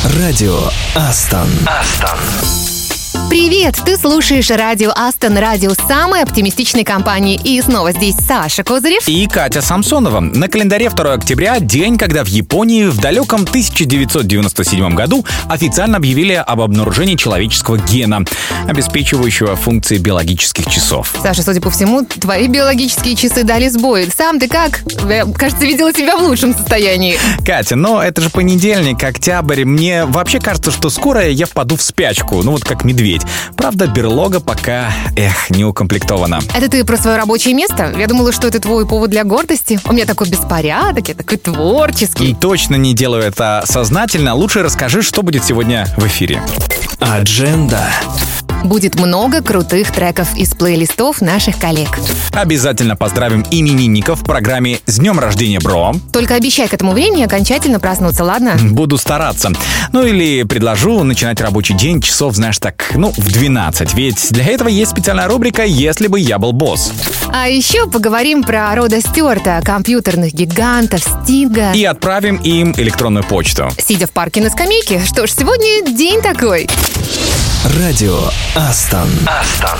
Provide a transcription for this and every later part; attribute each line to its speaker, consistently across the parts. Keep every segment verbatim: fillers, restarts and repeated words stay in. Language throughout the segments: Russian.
Speaker 1: Радио Астон. Астон.
Speaker 2: Привет! Ты слушаешь радио Астон, радио самой оптимистичной компании. И снова здесь Саша Козырев
Speaker 3: и Катя Самсонова. На календаре второго октября, день, когда в Японии в далеком тысяча девятьсот девяносто седьмом году официально объявили об обнаружении человеческого гена, обеспечивающего функции биологических часов.
Speaker 2: Саша, судя по всему, твои биологические часы дали сбой. Сам ты как? Я, кажется, видела тебя в лучшем состоянии.
Speaker 3: Катя, но это же понедельник, октябрь. Мне вообще кажется, что скоро я впаду в спячку, ну вот как медведь. Правда, берлога пока, эх, не укомплектована.
Speaker 2: Это ты про свое рабочее место? Я думала, что это твой повод для гордости. У меня такой беспорядок, я такой творческий.
Speaker 3: Точно не делаю это сознательно. Лучше расскажи, что будет сегодня в эфире.
Speaker 1: Адженда.
Speaker 2: Будет много крутых треков из плейлистов наших коллег.
Speaker 3: Обязательно поздравим именинников в программе «С днем рождения, бро».
Speaker 2: Только обещай к этому времени окончательно проснуться, ладно?
Speaker 3: Буду стараться. Ну или предложу начинать рабочий день часов, знаешь, так, ну, в двенадцать. Ведь для этого есть специальная рубрика «Если бы я был босс».
Speaker 2: А еще поговорим про Рода Стюарта, компьютерных гигантов, Стинга.
Speaker 3: И отправим им электронную почту.
Speaker 2: Сидя в парке на скамейке. Что ж, сегодня день такой.
Speaker 1: Радио Астон. Астон.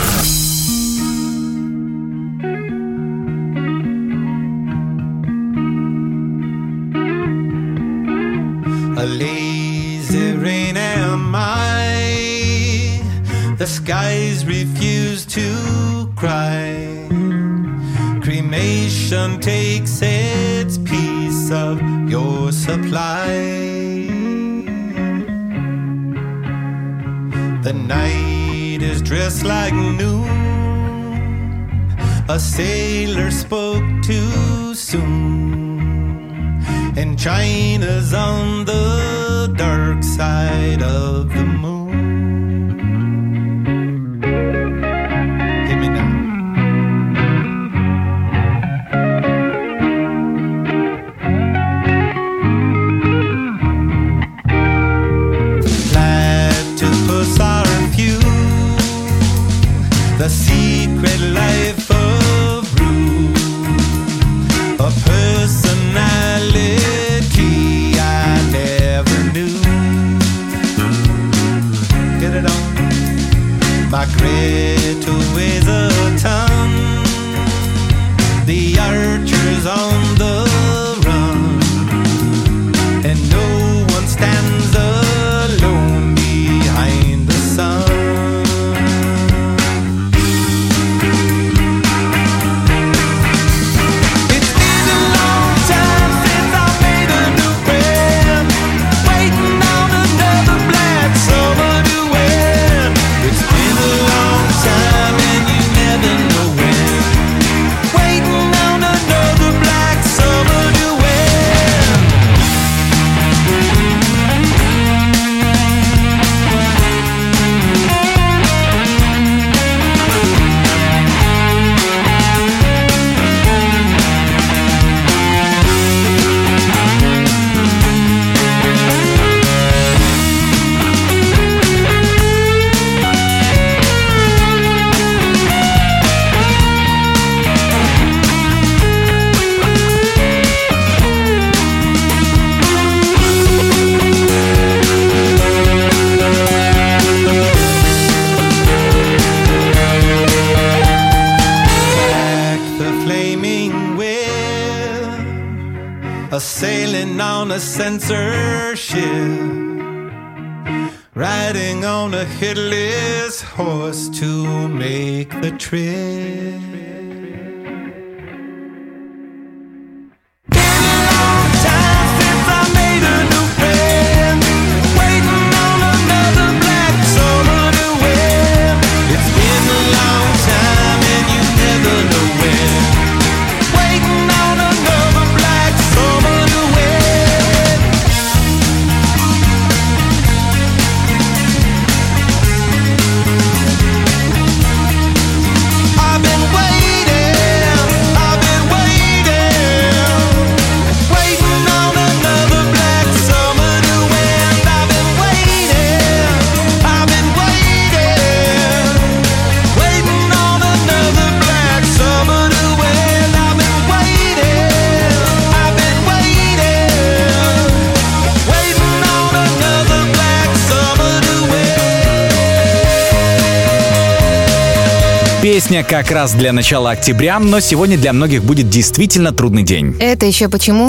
Speaker 4: A lazy rain am I. The skies refuse to cry. Cremation takes its piece of your supply. The night is dressed like noon. A sailor spoke too soon. And China's on the dark side of the moon. Hit me now. Platypus are few. The secret life of Rue. A personality I never knew. Get it on. My Greta weighs a ton. The archer's on the run. And no one stands alone behind the sun. Sailing on a censorship, riding on a headless horse to make the trip. I've been waiting.
Speaker 3: Песня как раз для начала октября, но сегодня для многих будет действительно трудный день.
Speaker 2: Это еще почему?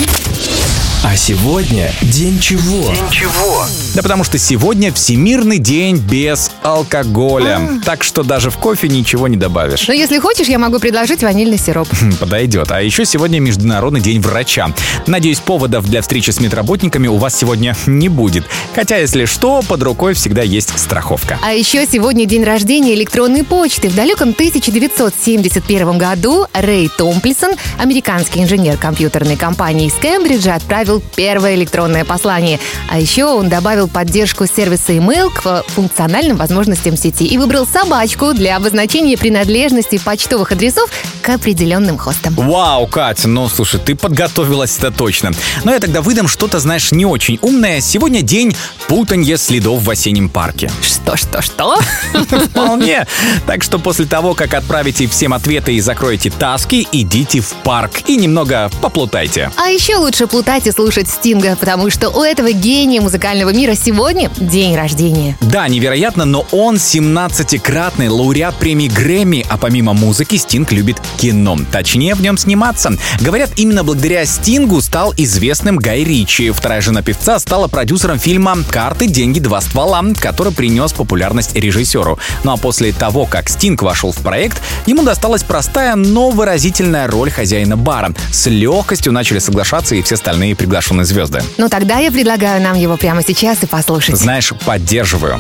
Speaker 1: А сегодня день чего? День чего?
Speaker 3: Да потому что сегодня Всемирный день без алкоголя. А. Так что даже в кофе ничего не добавишь.
Speaker 2: Но если хочешь, я могу предложить ванильный сироп.
Speaker 3: Подойдет. А еще сегодня Международный день врача. Надеюсь, поводов для встречи с медработниками у вас сегодня не будет. Хотя, если что, под рукой всегда есть страховка.
Speaker 2: А еще сегодня день рождения электронной почты. В далеком тысяча девятьсот семьдесят первом году Рэй Томплинсон, американский инженер компьютерной компании из Кембриджа, отправил первое электронное послание. А еще он добавил поддержку сервиса email к функциональным возможностям сети и выбрал собачку для обозначения принадлежности почтовых адресов к определенным хостам.
Speaker 3: Вау, Катя, ну слушай, ты подготовилась, это точно. Но я тогда выдам что-то, знаешь, не очень умное. Сегодня день путанья следов в осеннем парке.
Speaker 2: Что, что, что?
Speaker 3: Вполне. Так что после того, как отправите всем ответы и закроете таски, идите в парк и немного поплутайте.
Speaker 2: А еще лучше плутать и слушать Стинга, потому что у этого гения музыкального мира сегодня день рождения.
Speaker 3: Да, невероятно, но он семнадцатикратный лауреат премии Грэмми, а помимо музыки Стинг любит кино. Точнее, в нем сниматься. Говорят, именно благодаря Стингу стал известным Гай Ричи. Вторая жена певца стала продюсером фильма «Карты, деньги, два ствола», который принес популярность режиссеру. Ну а после того, как Стинг вошел в проект, ему досталась простая, но выразительная роль хозяина бара. С легкостью начали соглашаться и все остальные приглашенные звезды.
Speaker 2: Ну тогда я предлагаю нам его прямо сейчас и послушать.
Speaker 3: Знаешь, поддерживаю.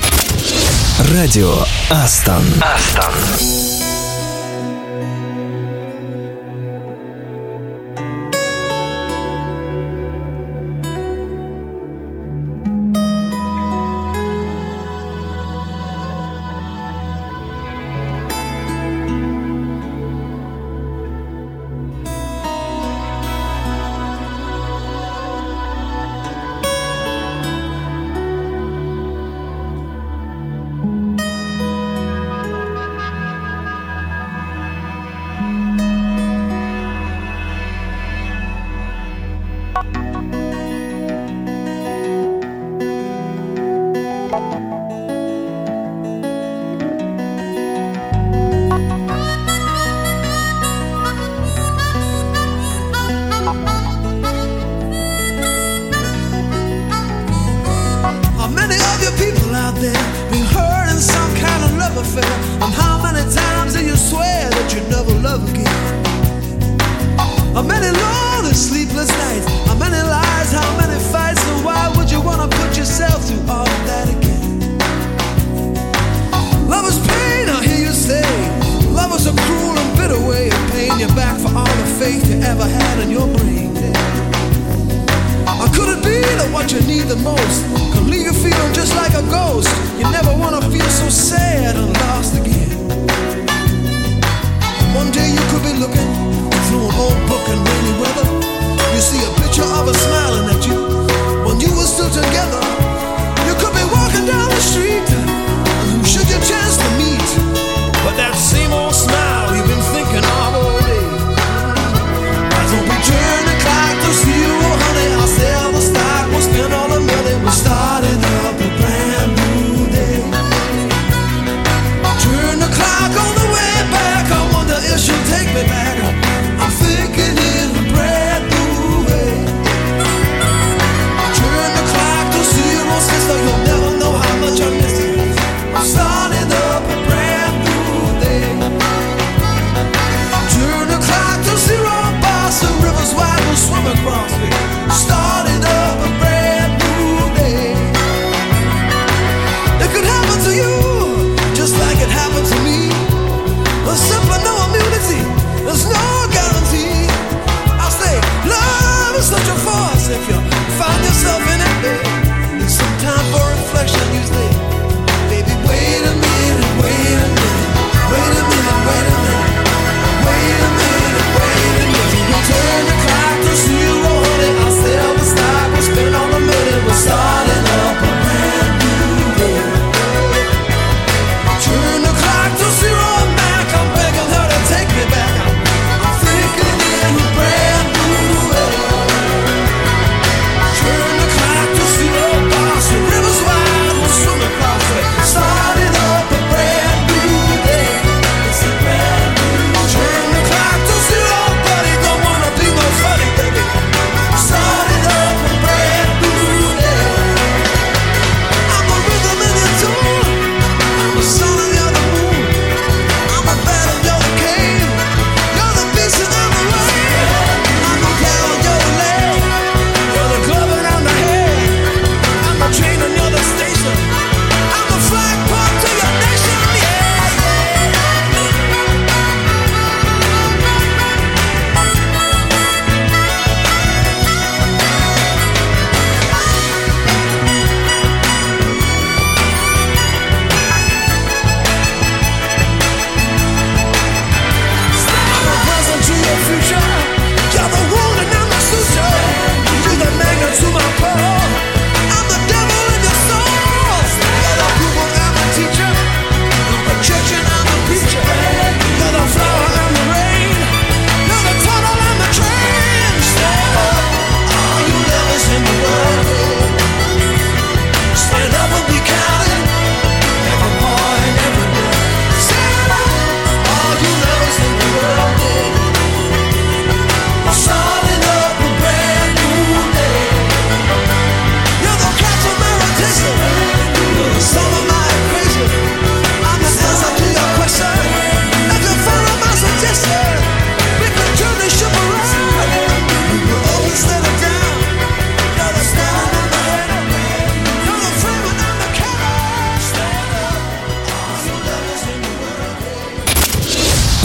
Speaker 1: Радио Астон. Астон.
Speaker 5: Starting up a brand new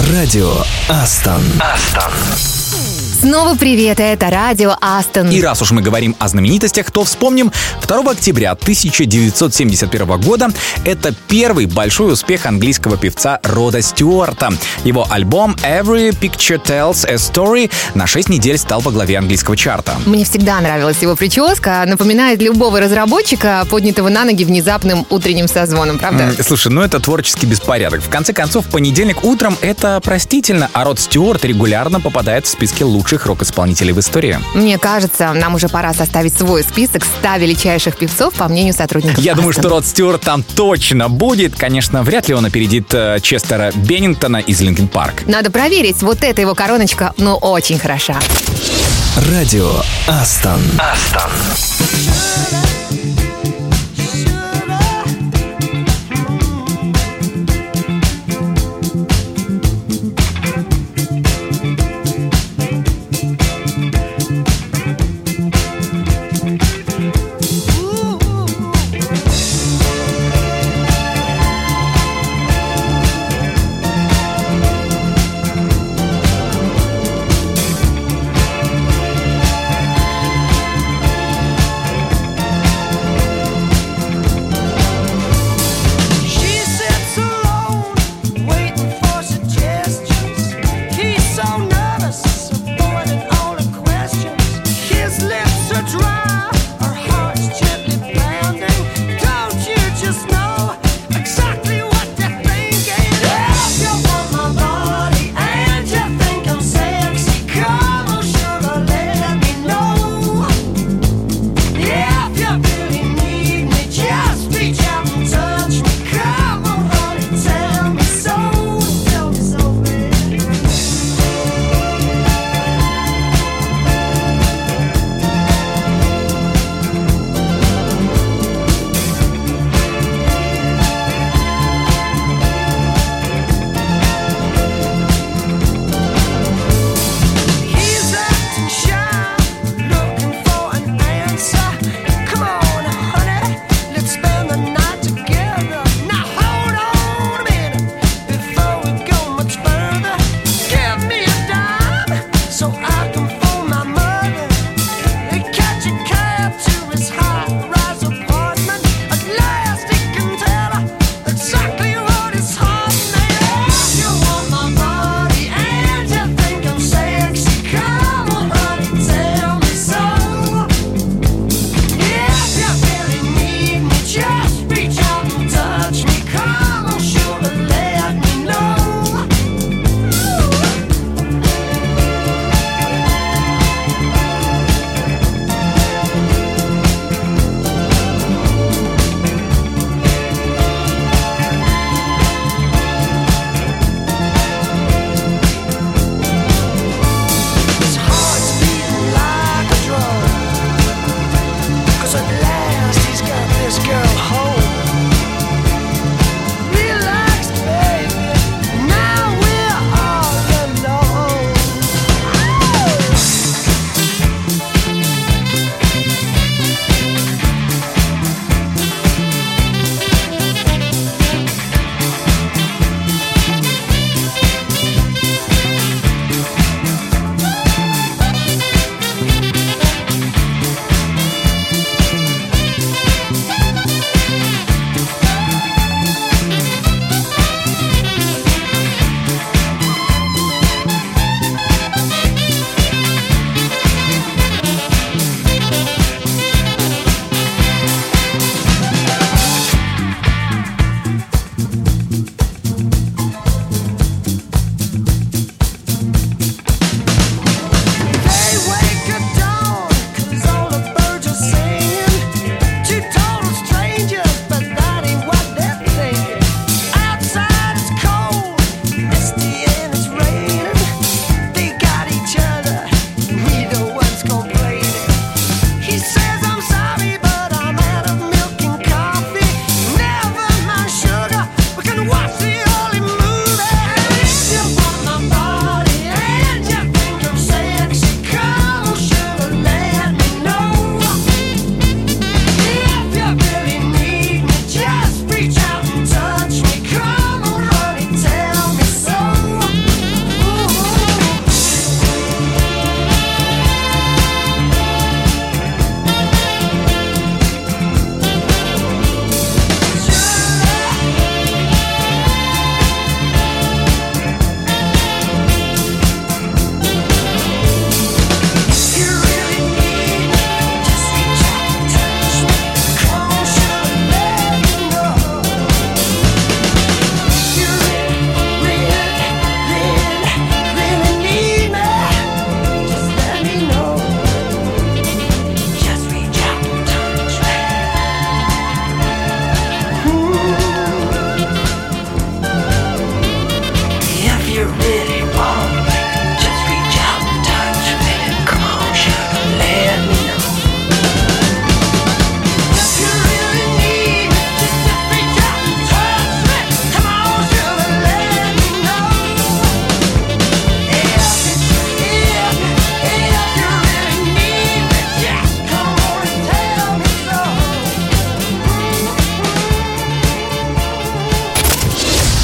Speaker 1: Радио Астон. Астон.
Speaker 2: Снова привет, это радио Астон.
Speaker 3: И раз уж мы говорим о знаменитостях, то вспомним второго октября тысяча девятьсот семьдесят первого года. Это первый большой успех английского певца Рода Стюарта. Его альбом Every Picture Tells a Story на шесть недель стал во главе английского чарта.
Speaker 2: Мне всегда нравилась его прическа. Напоминает любого разработчика, поднятого на ноги внезапным утренним созвоном, правда?
Speaker 3: Mm, слушай, ну это творческий беспорядок. В конце концов, в понедельник утром это простительно, а Род Стюарт регулярно попадает в списки лучших рок-исполнителей в истории.
Speaker 2: Мне кажется, нам уже пора составить свой список ста величайших певцов, по мнению сотрудников
Speaker 3: Я
Speaker 2: Астон.
Speaker 3: думаю, что Род Стюарт там точно будет. Конечно, вряд ли он опередит э, Честера Беннингтона из Линкин Парк.
Speaker 2: Надо проверить, вот эта его короночка, ну, очень хороша.
Speaker 1: Радио Астон. Астон.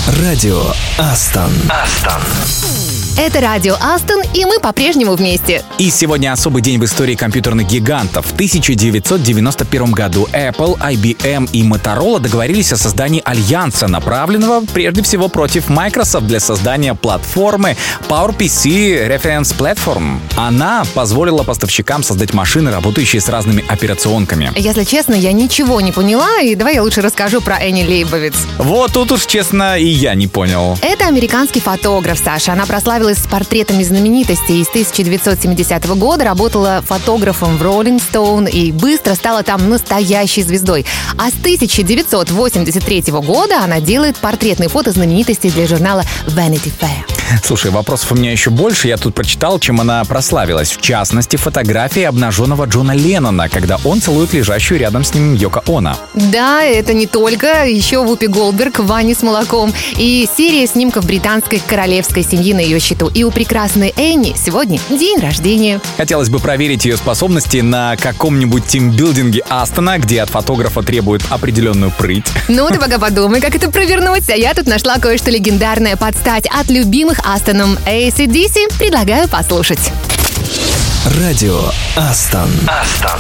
Speaker 1: Радио Астон. Астон.
Speaker 2: Это радио Астон, и мы по-прежнему вместе.
Speaker 3: И сегодня особый день в истории компьютерных гигантов. В тысяча девятьсот девяносто первом году Apple, ай би эм и Motorola договорились о создании альянса, направленного прежде всего против Microsoft для создания платформы PowerPC Reference Platform. Она позволила поставщикам создать машины, работающие с разными операционками.
Speaker 2: Если честно, я ничего не поняла, и давай я лучше расскажу про Энни Лейбовиц.
Speaker 3: Вот тут уж, честно, и я не понял.
Speaker 2: Это американский фотограф, Саша. Она прославилась с портретами знаменитостей. С тысяча девятьсот семидесятого года работала фотографом в Rolling Stone и быстро стала там настоящей звездой. А с тысяча девятьсот восемьдесят третьего года она делает портретные фото знаменитостей для журнала Vanity Fair.
Speaker 3: Слушай, вопросов у меня еще больше. Я тут прочитал, чем она прославилась. В частности, фотографии обнаженного Джона Леннона, когда он целует лежащую рядом с ним Йоко Оно.
Speaker 2: Да, это не только. Еще Вупи Голдберг в ванне с молоком. И серия снимков британской королевской семьи на ее счету. И у прекрасной Энни сегодня день рождения.
Speaker 3: Хотелось бы проверить ее способности на каком-нибудь тимбилдинге Астона, где от фотографа требуют определенную прыть.
Speaker 2: Ну, ты пока подумай, как это провернуть. А я тут нашла кое-что легендарное под стать от любимых Астоном эй си ди си. Предлагаю послушать.
Speaker 1: Радио Астон. Астон.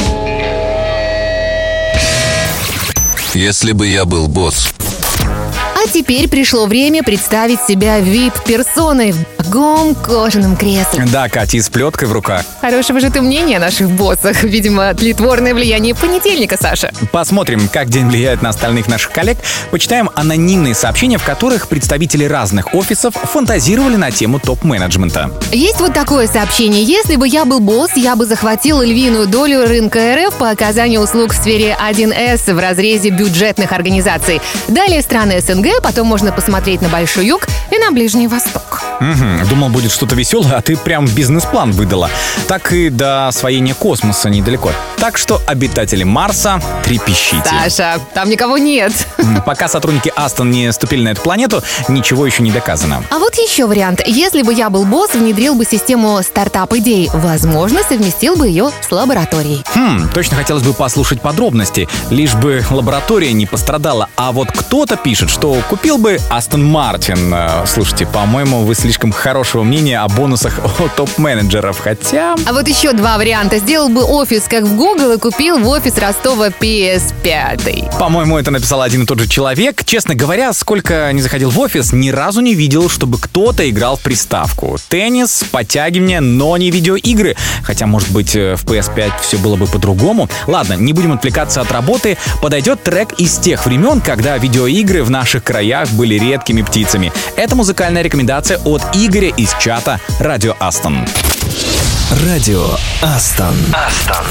Speaker 5: Если бы я был босс.
Speaker 2: А теперь пришло время представить себя ви ай пи-персоной в дорогом кожаном кресле.
Speaker 3: Да, Катя, и с плеткой в руках.
Speaker 2: Хорошего же ты мнения о наших боссах. Видимо, тлетворное влияние понедельника, Саша.
Speaker 3: Посмотрим, как день влияет на остальных наших коллег. Почитаем анонимные сообщения, в которых представители разных офисов фантазировали на тему топ-менеджмента.
Speaker 2: Есть вот такое сообщение. Если бы я был босс, я бы захватил львиную долю рынка эр эф по оказанию услуг в сфере один эс в разрезе бюджетных организаций. Далее страны эс эн гэ, потом можно посмотреть на Большой Юг и на Ближний Восток.
Speaker 3: Угу, думал, будет что-то веселое, а ты прям бизнес-план выдала. Так и до освоения космоса недалеко. Так что обитатели Марса, трепещите.
Speaker 2: Саша, там никого нет.
Speaker 3: Пока сотрудники Астон не ступили на эту планету, ничего еще не доказано.
Speaker 2: А вот еще вариант. Если бы я был босс, внедрил бы систему стартап-идей. Возможно, совместил бы ее с лабораторией.
Speaker 3: Хм, точно хотелось бы послушать подробности. Лишь бы лаборатория не пострадала. А вот кто-то пишет, что купил бы Астон Мартин. Слушайте, по-моему, вы слишком хорошего мнения о бонусах от топ-менеджеров. Хотя...
Speaker 2: А вот еще два варианта. Сделал бы офис, как в Google, и купил в офис Ростова пи эс пять.
Speaker 3: По-моему, это написал один и тот же человек. Честно говоря, сколько не заходил в офис, ни разу не видел, чтобы кто-то играл в приставку. Теннис, подтягивание, но не видеоигры. Хотя, может быть, в пи эс пять все было бы по-другому. Ладно, не будем отвлекаться от работы. Подойдет трек из тех времен, когда видеоигры в наших краях были редкими птицами. Это музыкальная рекомендация от Игоря из чата «Радио Астон».
Speaker 1: Радио Астон. Астон.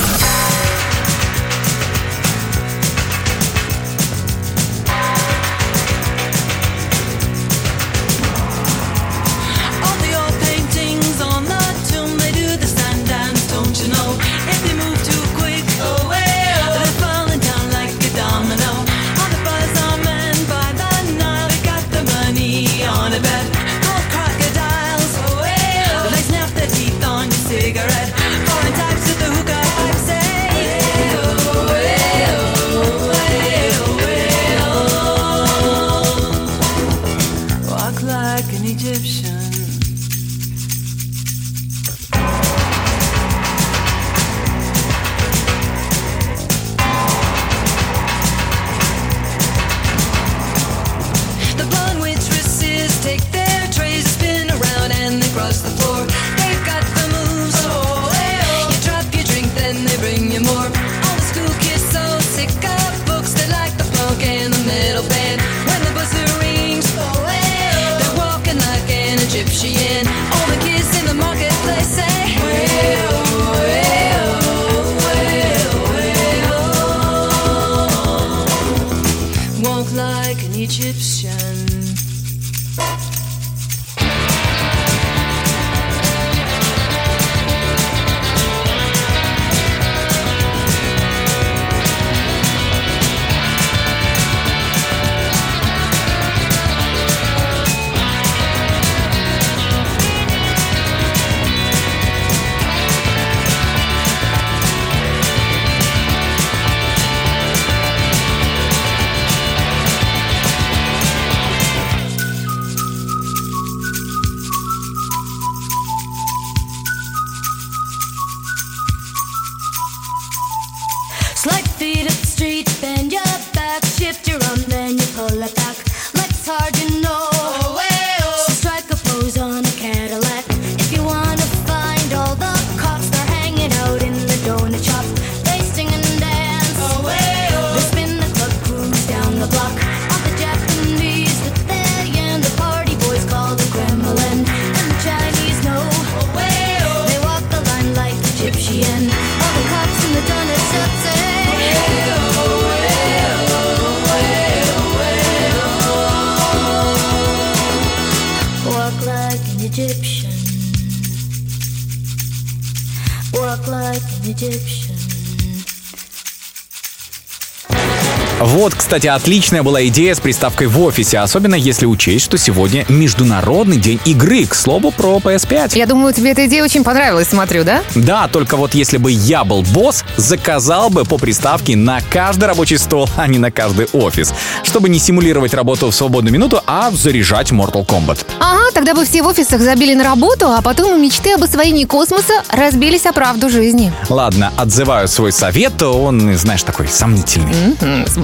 Speaker 3: Вот, кстати, отличная была идея с приставкой в офисе, особенно если учесть, что сегодня Международный день игры, к слову, про пи эс пять.
Speaker 2: Я думаю, тебе эта идея очень понравилась, смотрю, да?
Speaker 3: Да, только вот если бы я был босс, заказал бы по приставке на каждый рабочий стол, а не на каждый офис, чтобы не симулировать работу в свободную минуту, а заряжать Mortal Kombat.
Speaker 2: Ага, тогда бы все в офисах забили на работу, а потом и мечты об освоении космоса разбились о правду жизни.
Speaker 3: Ладно, отзываю свой совет, он, знаешь, такой сомнительный.
Speaker 2: Mm-hmm. С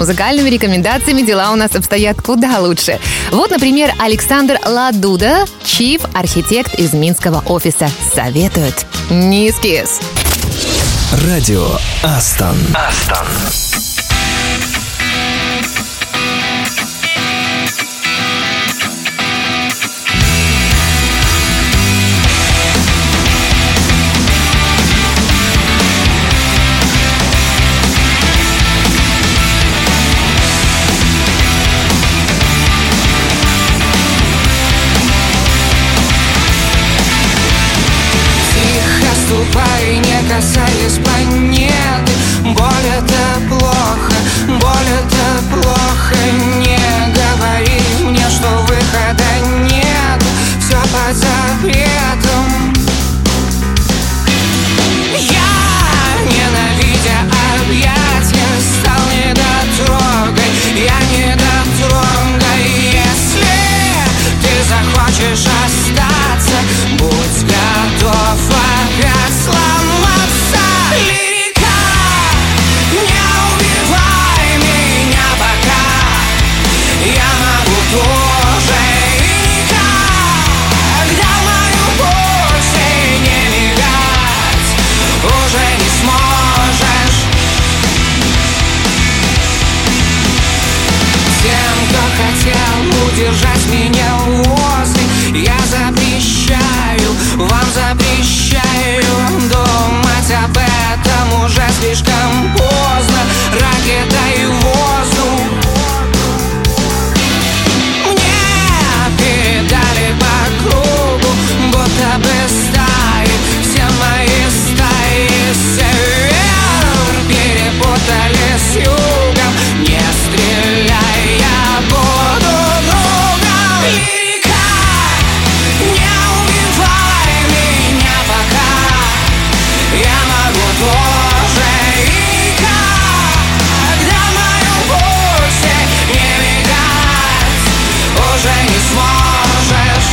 Speaker 2: музыкальными рекомендациями дела у нас обстоят куда лучше. Вот, например, Александр Ладуда, чиф-архитект из минского офиса, советует. Не эскиз.
Speaker 1: Радио Астон. Астон.
Speaker 5: Ступай, не касаясь планеты. Боль это плохо, боль это плохо. Не говори мне, что выхода нет. Все под запретом. Я, ненавидя объятия, стал недотрогой. Я недотрогой. Если ты захочешь остаться, будь готов опять сломаться. Лирика, не убивай меня пока. Я могу тоже и никогда мою пульсе не мигать. Уже не сможешь. Тем, кто хотел удержать меня возле, я запрещаю, вам запрещаю думать об этом. Уже слишком поздно, ракета и воздух. Мне передали по кругу, будто бы стаи, все мои стаи. Север перепутали с югом. Не стреляй, я буду другом. Лирика, не убивай меня пока. Я могу тоже и никогда мою пульсе не мигать. Уже не сможешь.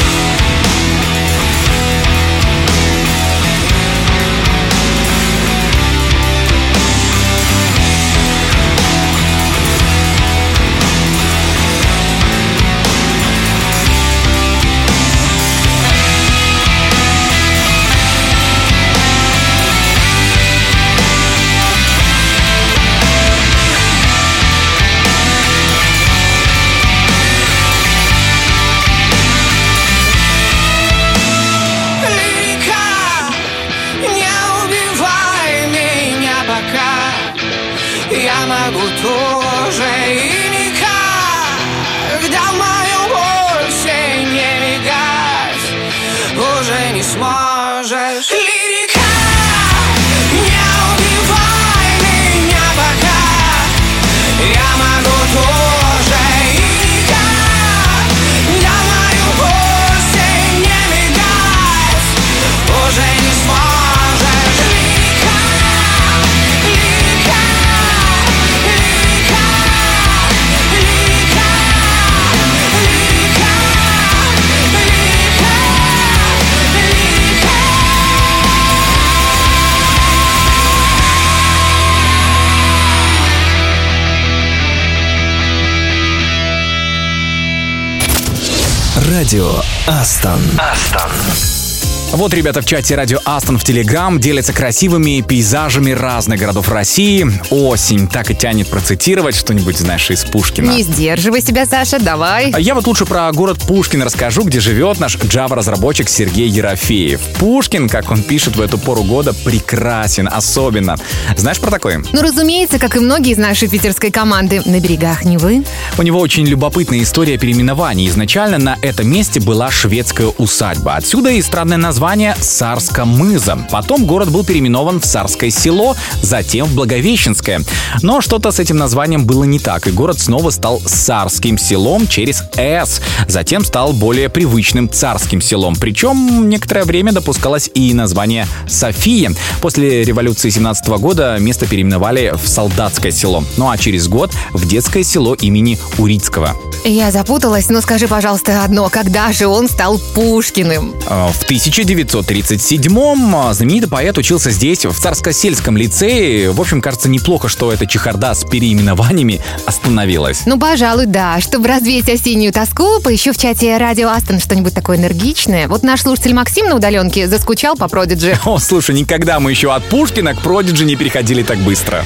Speaker 5: Лирика, не убивай меня пока. Я могу тоже и никогда в моем пульсе не мигать. Уже не сможешь. Лирика, не убивай меня пока. Я могу тоже и никогда в моем пульсе не мигать. Уже не сможешь. Лирика, лирика, лирика, лирика, лирика, лирика, лирика.
Speaker 1: Радио Астон. Астон.
Speaker 3: Вот ребята в чате Радио Астон в Телеграм делятся красивыми пейзажами разных городов России. Осень, так и тянет процитировать что-нибудь, знаешь, из Пушкина.
Speaker 2: Не сдерживай себя, Саша, давай.
Speaker 3: Я вот лучше про город Пушкин расскажу, где живет наш Java-разработчик Сергей Ерофеев. Пушкин, как он пишет в эту пору года, прекрасен, особенно. Знаешь про такое?
Speaker 2: Ну, разумеется, как и многие из нашей питерской команды, на берегах Невы.
Speaker 3: У него очень любопытная история переименований. Изначально на этом месте была шведская усадьба. Отсюда и странное название Царско-Мыза. Потом город был переименован в Царское село, затем в Благовещенское. Но что-то с этим названием было не так, и город снова стал Царским селом через «с». Затем стал более привычным Царским селом. Причем некоторое время допускалось и название София. После революции семнадцатого года место переименовали в Солдатское село. Ну а через год в Детское село имени Урицкого.
Speaker 2: Я запуталась, но скажи, пожалуйста, одно. Когда же он стал Пушкиным?
Speaker 3: В тысяча девятьсот тридцать седьмом знаменитый поэт учился здесь, в Царско-сельском лицее. В общем, кажется, неплохо, что эта чехарда с переименованиями остановилась.
Speaker 2: Ну, пожалуй, да. Чтобы развеять осеннюю тоску, поищу в чате Радио Астон что-нибудь такое энергичное. Вот наш слушатель Максим на удаленке заскучал по Продиджи.
Speaker 3: О, слушай, никогда мы еще от Пушкина к Продиджи не переходили так быстро.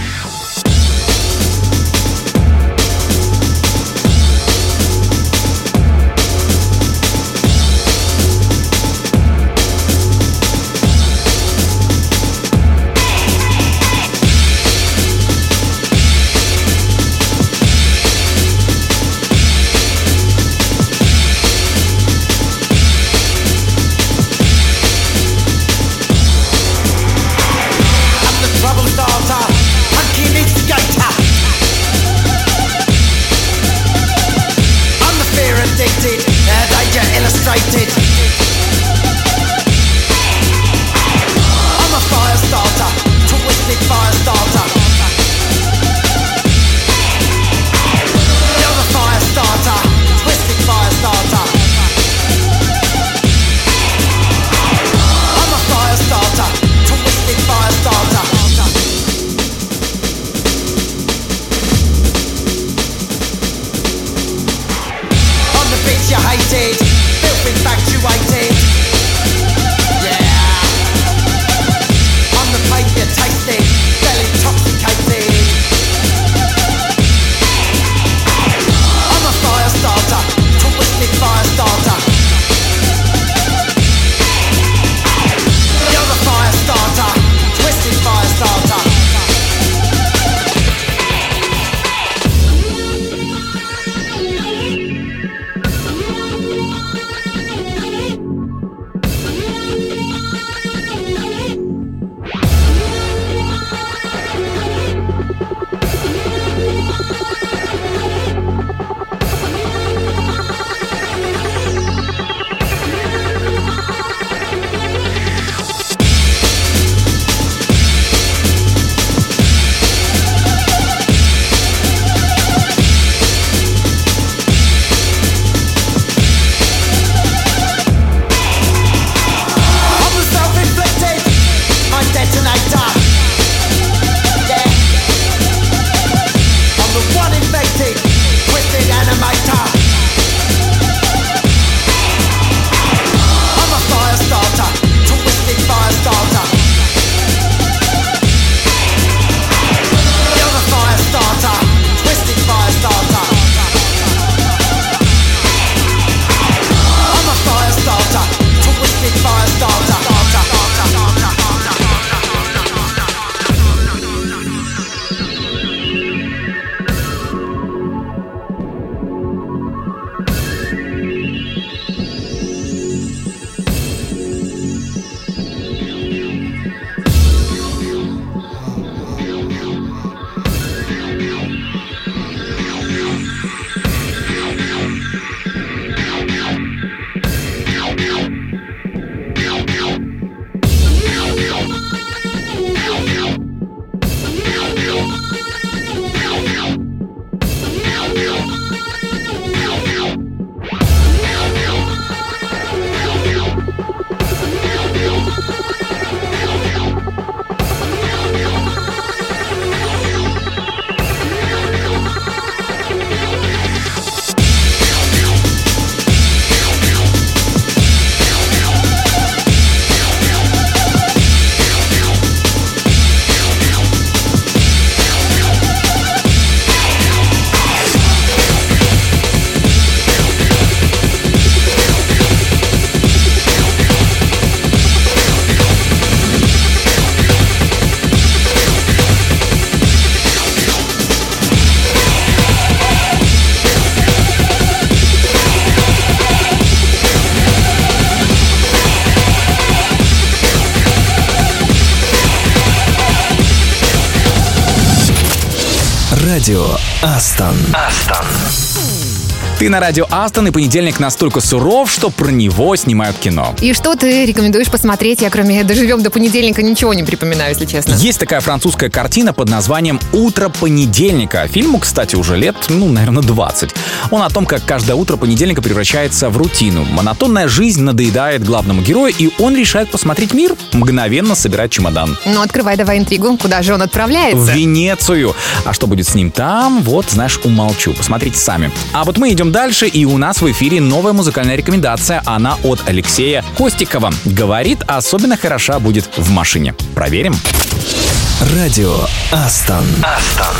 Speaker 1: Радио Астон. Астон.
Speaker 3: Ты на радио Астон, и понедельник настолько суров, что про него снимают кино.
Speaker 2: И что ты рекомендуешь посмотреть? Я кроме «Доживем до понедельника» ничего не припоминаю, если честно.
Speaker 3: Есть такая французская картина под названием «Утро понедельника». Фильму, кстати, уже лет, ну, наверное, двадцать. Он о том, как каждое утро понедельника превращается в рутину. Монотонная жизнь надоедает главному герою, и он решает посмотреть мир, мгновенно собирать чемодан.
Speaker 2: Ну, открывай давай интригу. Куда же он отправляется?
Speaker 3: В Венецию. А что будет с ним там, вот, знаешь, умолчу. Посмотрите сами. А вот мы идем дальше, и у нас в эфире новая музыкальная рекомендация. Она от Алексея Костикова. Говорит, особенно хороша будет в машине. Проверим.
Speaker 1: Радио Астон. Астон.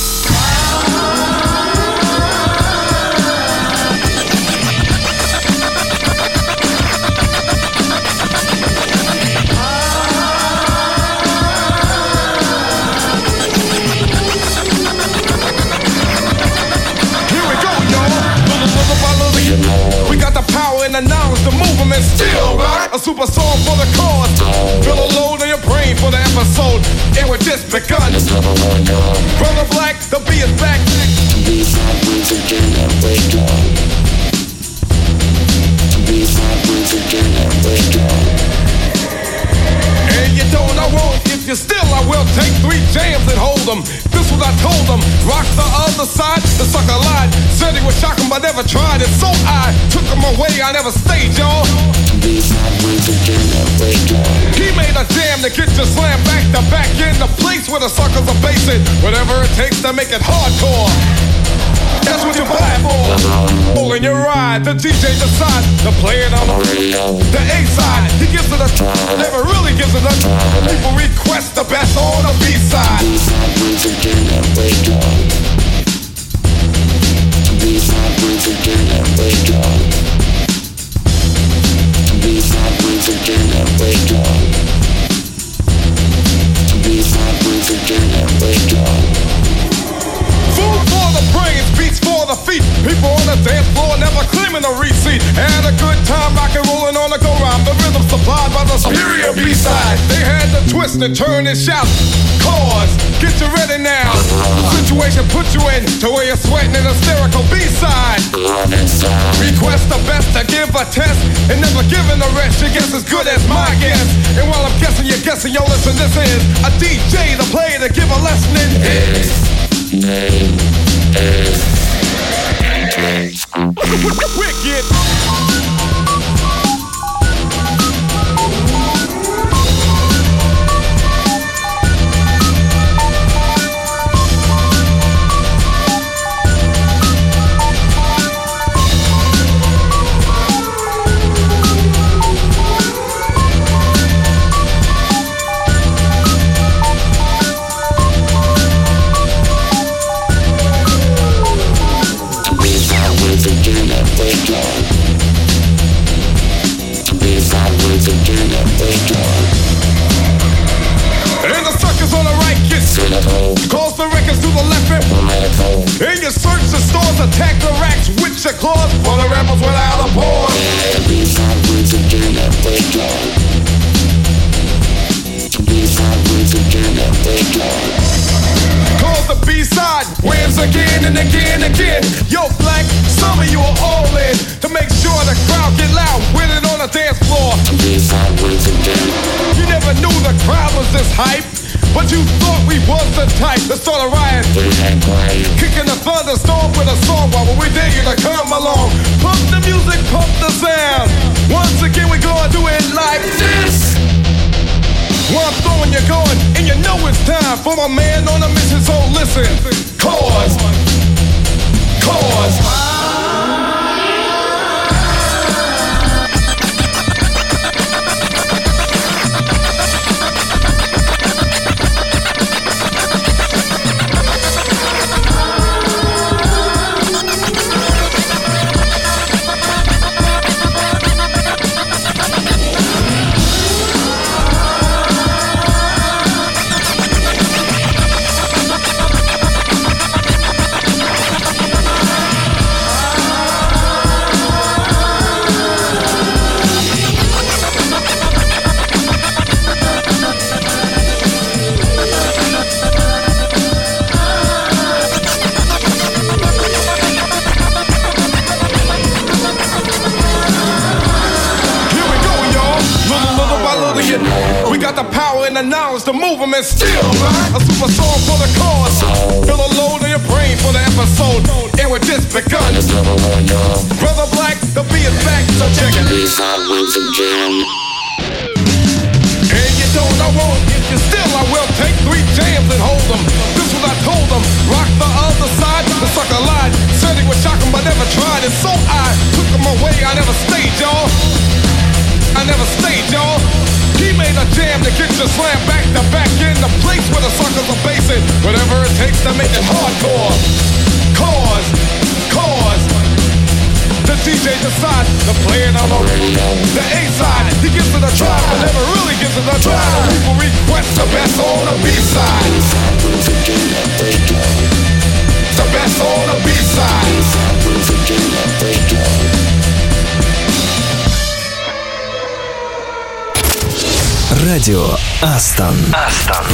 Speaker 6: The knowledge, the movement still rock. A super song for the cause. Feel a load in your brain for the episode. And we're just begun. Brother Black, the beat is back. And you don't, I won't. If you're still, I will take three jams and hold them. This what I told them. Rock the other side, the sucker lied. Said he was shocking, but never tried it. So I took him away, I never stayed, y'all. He made a jam to get you slammed back to back in the place where the suckers are basing. Whatever it takes to make it hardcore. That's what you buy for. Pulling your ride, the D J decides to play it on the radio. The A side, he gives it a try, never really gives it a try. People request the best on the B side. Food for the brains, beats for the feet. People on the dance floor never claiming a receipt. Had a good time rockin' rollin' on the go-round. The rhythm supplied by the superior B-side. They had to twist and turn and shout. Cause, get you ready now. The situation put you in to where you're sweating an hysterical B-side. Request the best to give a test and never giving the rest. Your guess as good as my guess. And while I'm guessing, you're guessing. Yo, listen, this is a D J to play to give a lesson in his name is Wicked. And the suckers on the right get cause the records to the left and and you search the stores, attack the racks with your claws for the rebels without a pause. Cause the B-side wins again and again and again. Yo, Black, some of you are all in to make sure the crowd get loud with it on the dance floor. You never knew the crowd was this hype, but you thought we was the type to start a riot. Kicking the thunderstorm with a song while we dare you to come along. Pump the music, pump the sound. Once again we gonna do it like this. While I'm throwing you going, and you know it's time for my man on a mission, so listen. Cause, cause and the knowledge to move them and still a super song for the cause. Feel a load in your brain for the episode, and we're just begun. Brother Black, the beat is back, so check it. And you don't, I won't get you still. I will take three jams and hold them. This was I told them. Rock the other side, the sucker lied. Said he would shock him, but never tried. And so I took him away. I never stayed, y'all. I never stayed, y'all. He made a jam to get you slammed back to back in the place where the suckers are basing. Whatever it takes to make it hardcore. Cause, cause. The D J decides to play it on the radio. The A-side, he gives it a try, but never really gives it a try. People request the best on the B-side. The best on the B-side.
Speaker 1: Радио Астон. Астон.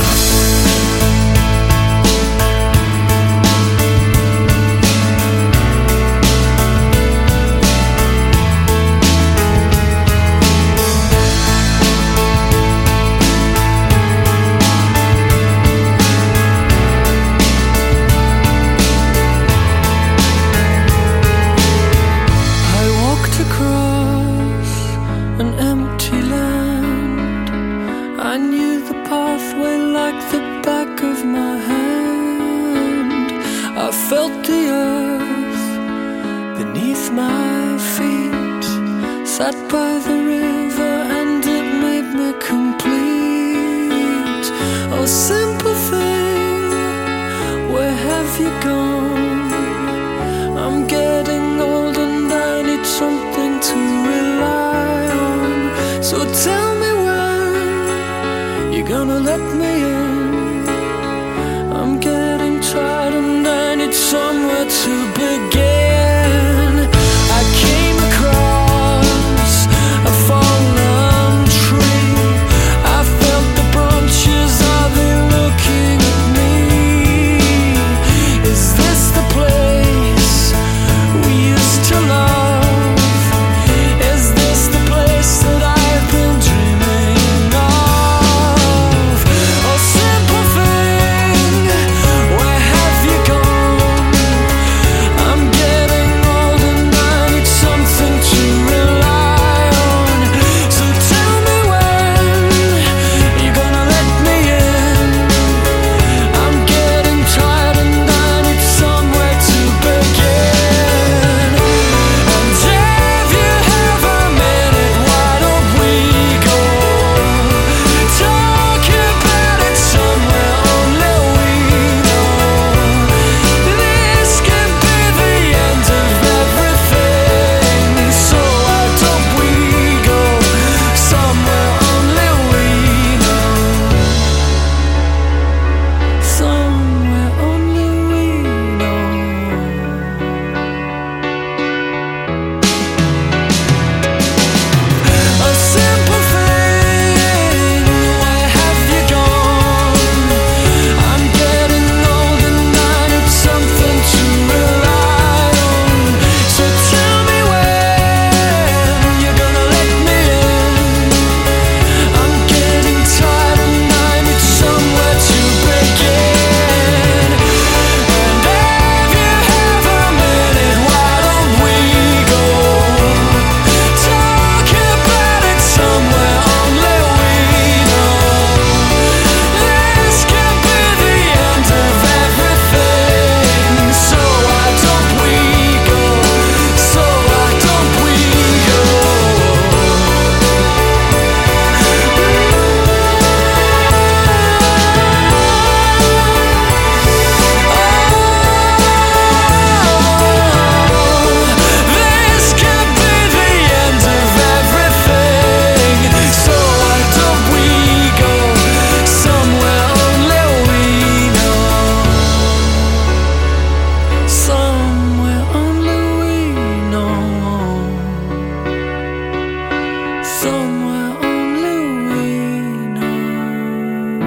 Speaker 5: Sat by the river and it made me complete. Oh, simple thing, where have you gone? I'm getting old and I need something to rely on. So tell me when you're gonna let me in. I'm getting tired and I need somewhere to begin. I came across a fallen tree. I felt the branches, are they looking at me? Is this the place we used to love? Is this the place that I've been dreaming of? Oh, simple thing, where have you gone? I'm getting old and I need something to rely on. So tell me when you're gonna let me in. I'm getting tired and I need somewhere to begin. And if you have a minute, why don't we go talk about it somewhere only we know? This could be the end of everything. So why don't we go somewhere only we know? Somewhere only we know. A simple thing, where have you gone? I'm getting old and I need something to rely on. So tell me when you're gonna let me in. I'm getting tired and I need somewhere to begin. And if you have a minute, why don't we go talk about it somewhere only we know? This could be the end of everything. So why don't we go? So why don't we go? This could be the end of everything. So why don't we go somewhere only we know? Somewhere only we know. Somewhere only we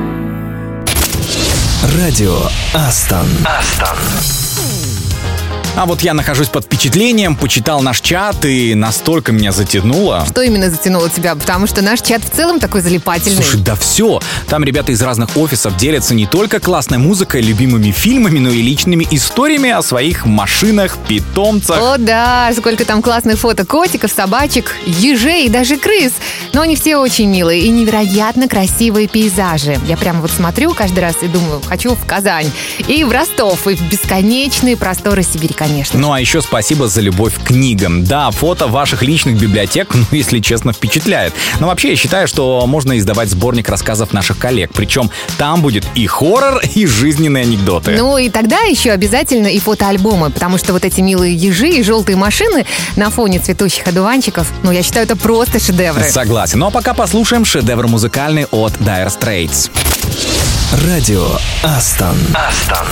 Speaker 5: know.
Speaker 1: Радио Астон. Астон.
Speaker 3: А вот я нахожусь под впечатлением, почитал наш чат и настолько меня затянуло.
Speaker 2: Что именно затянуло тебя? Потому что наш чат в целом такой залипательный.
Speaker 3: Слушай, да все. Там ребята из разных офисов делятся не только классной музыкой, любимыми фильмами, но и личными историями о своих машинах, питомцах.
Speaker 2: О да, сколько там классных фото котиков, собачек, ежей и даже крыс. Но они все очень милые и невероятно красивые пейзажи. Я прямо вот смотрю каждый раз и думаю, хочу в Казань. И в Ростов, и в бесконечные просторы Сибири, конечно.
Speaker 3: Ну а еще спасибо за любовь к книгам. Да, фото ваших личных библиотек, ну, если честно, впечатляет. Но вообще я считаю, что можно издавать сборник рассказов наших коллег. Причем там будет и хоррор, и жизненные анекдоты.
Speaker 2: Ну и тогда еще обязательно и фотоальбомы, потому что вот эти милые ежи и желтые машины на фоне цветущих одуванчиков, ну я считаю, это просто шедевры.
Speaker 3: Согласен. Ну а пока послушаем шедевр музыкальный от Dire Straits.
Speaker 1: Радио Астон. Астон.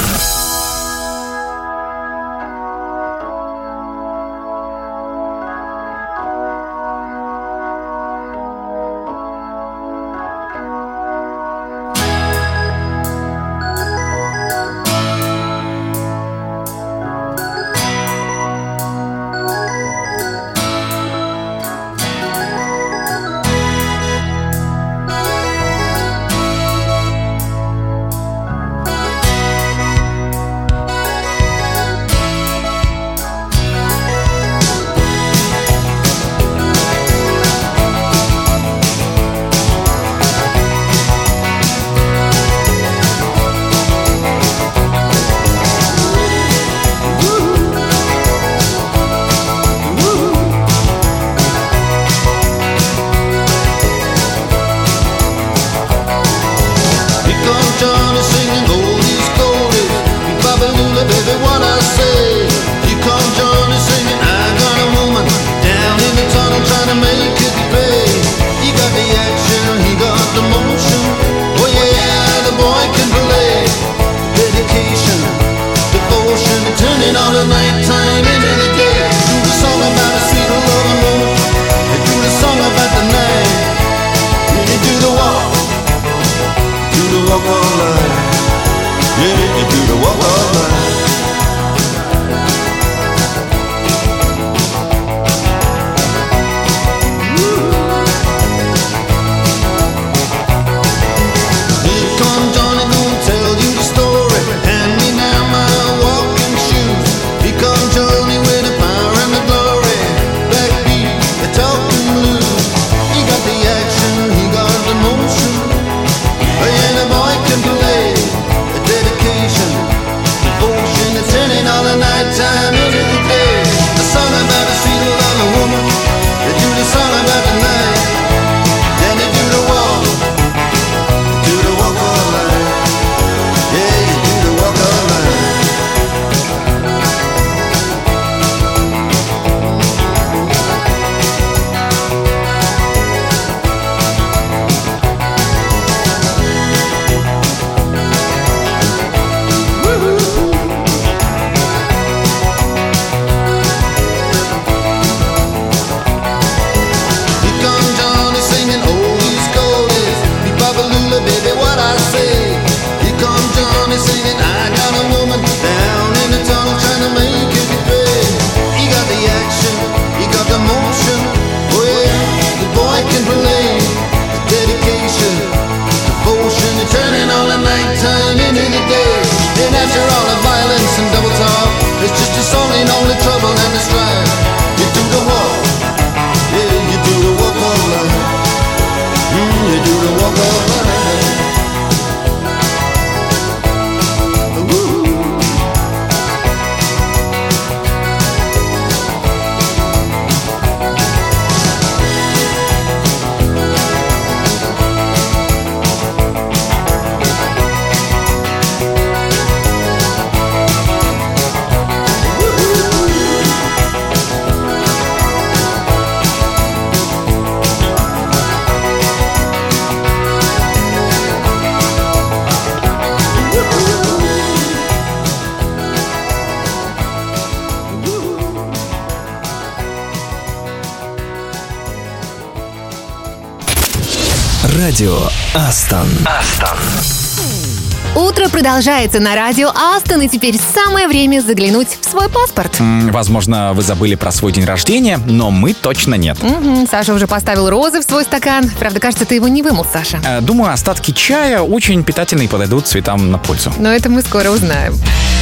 Speaker 1: Радио Астон. Астон.
Speaker 2: Утро продолжается на радио Астон, и теперь самое время заглянуть в свой паспорт.
Speaker 3: М, Возможно, вы забыли про свой день рождения, но мы точно нет.
Speaker 2: Мгм, Саша уже поставил розы в свой стакан. Правда, кажется, ты его не вымыл, Саша.
Speaker 3: Э, Думаю, остатки чая очень питательные и подойдут цветам на пользу.
Speaker 2: Но это мы скоро узнаем.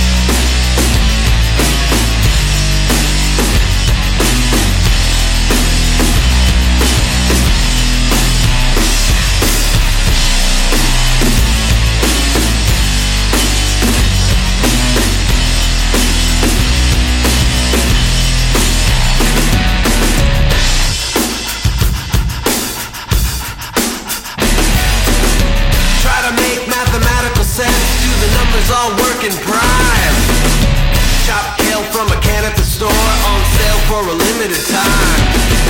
Speaker 7: Try to make mathematical sense. Do the numbers all work in prime? Chop kale from a can at the store, on sale for a limited time.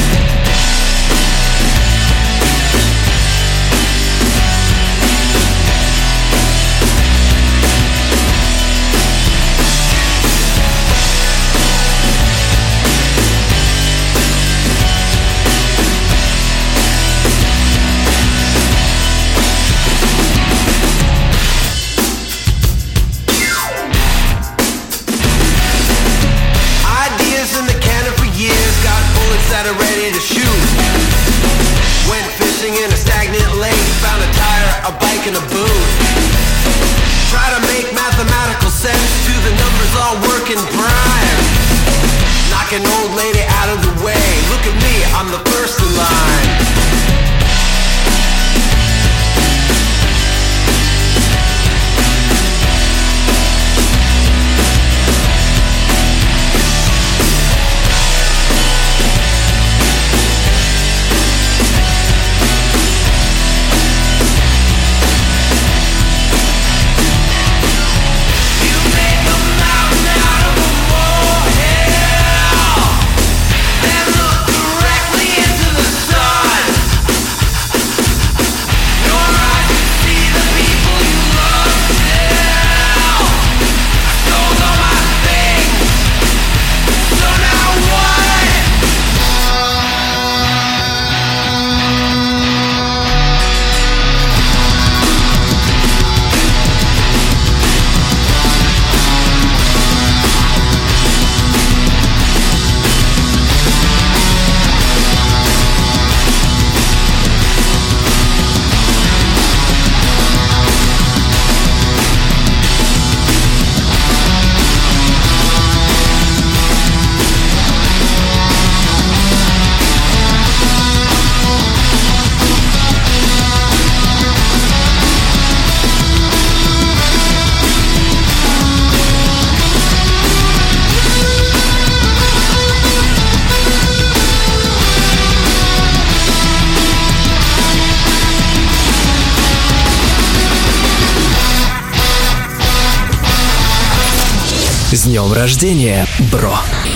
Speaker 7: Ideas in the cannon for years, got bullets that are ready to shoot. Went fishing in a stagnant lake, found a tire, a bike, and a boot. Try to make mathematical sense, do the numbers all work in prime? Knock an old lady out of the way, look at me, I'm the first in line. You make a mountain out of a molehill, then look directly into the sun. Your eyes can see the people you love still. I sold all my things, so now what?
Speaker 1: С днем рождения, бро!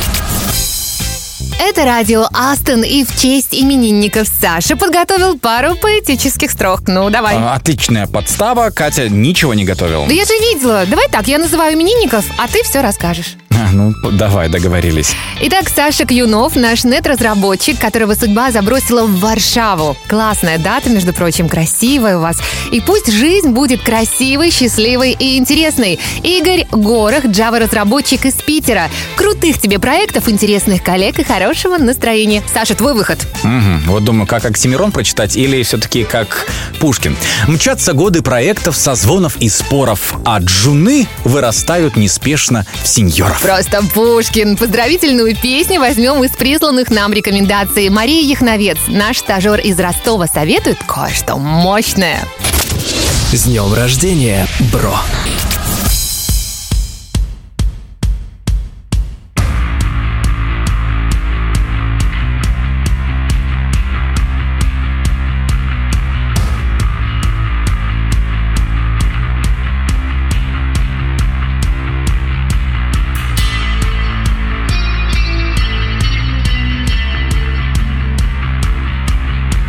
Speaker 2: Это радио Астон, и в честь именинников Саша подготовил пару поэтических строк. Ну, давай.
Speaker 3: А, Отличная подстава. Катя ничего не готовила.
Speaker 2: Да я же видела. Давай так, я называю именинников, а ты все расскажешь.
Speaker 3: А, Ну, давай, договорились.
Speaker 2: Итак, Саша Кьюнов, наш нет-разработчик, которого судьба забросила в Варшаву. Классная дата, между прочим, красивая у вас. И пусть жизнь будет красивой, счастливой и интересной. Игорь Горох, Java-разработчик из Питера. Крутых тебе проектов, интересных коллег и хорошего настроения. Саша, твой выход.
Speaker 3: Мгм. Вот думаю, как Оксимирон прочитать или все-таки как Пушкин. Мчатся годы проектов, созвонов и споров, а джуны вырастают неспешно в сеньоров.
Speaker 2: Просто Пушкин. Поздравительную песню возьмем из присланных нам рекомендаций. Мария Яхновец, наш стажер из Ростова, советует кое-что мощное.
Speaker 1: С днем рождения, бро!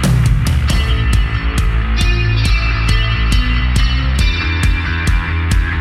Speaker 7: You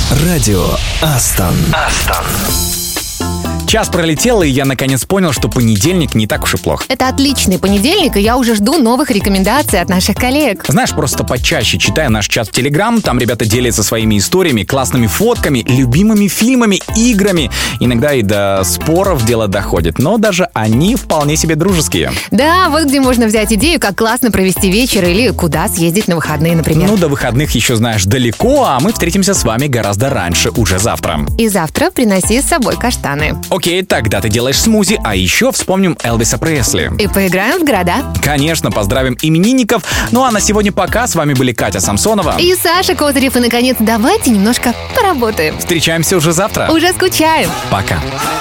Speaker 1: Радио Астон. Астон.
Speaker 3: Час пролетел, и я наконец понял, что понедельник не так уж и плох.
Speaker 2: Это отличный понедельник, и я уже жду новых рекомендаций от наших коллег.
Speaker 3: Знаешь, просто почаще читаю наш чат в Телеграм, там ребята делятся своими историями, классными фотками, любимыми фильмами, играми. Иногда и до споров дело доходит, но даже они вполне себе дружеские.
Speaker 2: Да, вот где можно взять идею, как классно провести вечер или куда съездить на выходные, например.
Speaker 3: Ну, до выходных еще, знаешь, далеко, а мы встретимся с вами гораздо раньше, уже завтра.
Speaker 2: И завтра приноси с собой каштаны.
Speaker 3: Окей, тогда ты делаешь смузи, а еще вспомним Элвиса Пресли.
Speaker 2: И поиграем в города.
Speaker 3: Конечно, поздравим именинников. Ну а на сегодня пока. С вами были Катя Самсонова
Speaker 2: и Саша Козырев. И, наконец, давайте немножко поработаем.
Speaker 3: Встречаемся уже завтра.
Speaker 2: Уже скучаем.
Speaker 3: Пока.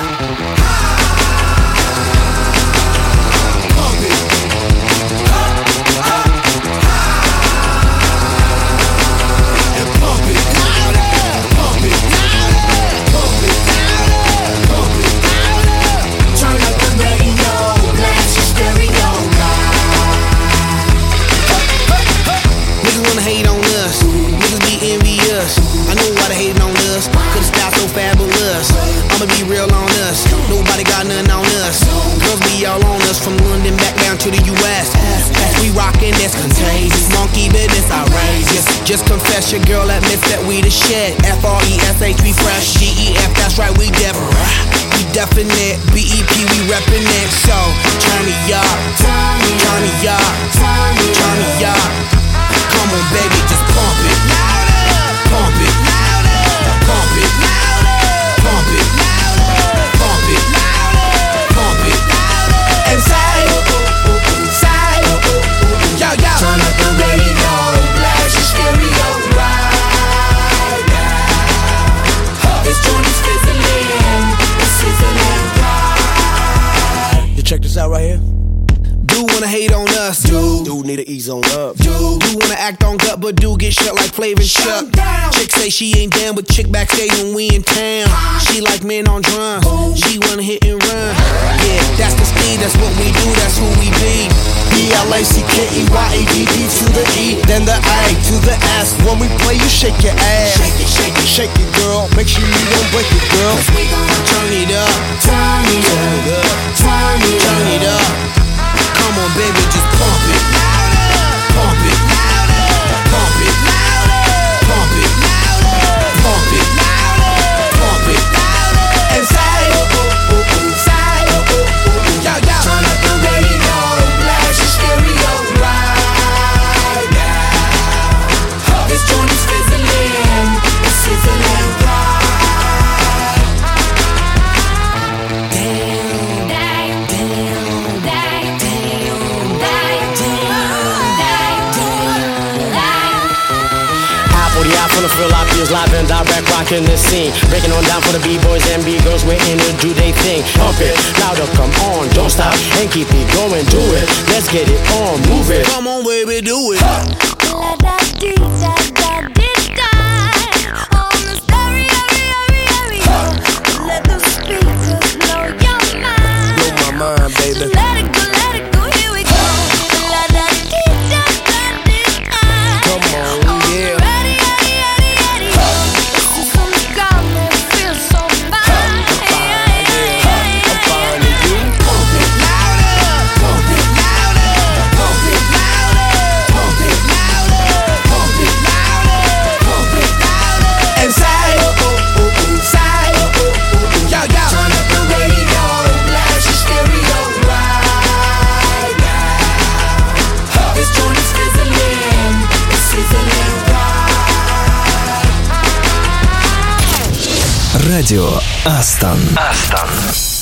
Speaker 8: From London back down to the U S As we rockin', that's contagious. Monkey business outrageous. Just confess your girl admits that we the shit. F R E S H, we fresh. G E F, that's right, we def. We definite. B E P, we reppin' it. So, turn me up. Turn me up. Turn me up. Come on, baby, just pump it. Pump it. Pump it. Pump it. Pump it. Pump it. And say, say, yo, yo. Turn up the radio, blast your stereo right now. This joint is fizzling, it's sizzling right. You check this out right here. Do wanna hate on us, do. Do need to ease on up, do. Do wanna act on gut, but do get shut like Flavor and Chuck. Chick say she ain't down, but chick backstage when we in town. She like men on drums, she wanna hit and run. Yeah, that's the speed, that's what we do, that's who we be. B L A C K E Y A D D to the E, then the A to the S. When we play, you shake your ass. Shake it, shake it, shake it, girl. Make sure you don't break it, girl. Cause we gon' turn it up, turn it up, turn it up, turn it up. Come on, baby, just pump it. Pump it. Pump it. Pump it. Pump it. Pump it. And say, say, yo, yo. Turn up the radio, blast your stereo right now. This joint is fizzling, it's sizzling right. Damn, damn, damn, damn, damn, damn. Apple, the apple, feel like feels live and direct, rocking the scene. Breaking on down for the B-boys and B-girls, we're in to do they thing. Pump it, louder, come on, don't stop, and keep it going, do it. Let's get it on, move it. Come on, baby, do it. Let the speakers blow your mind. Blow my mind, baby. Let it go, let it go, here we go. La da dee da da dee da. Come on, yeah. Ready, ready, ready, ready. This is some girl that feels so fine. I'm fine, yeah. I'm fine with you. Pump it louder, pump it louder, pump it louder, pump it louder, pump it louder, pump it louder. And say, oh, oh, oh, say, oh, oh, oh, yo, yo. Turn up the radio, blast your stereo right now. This joint is fizzling, it's sizzling right.
Speaker 1: Радио Астон. Астон.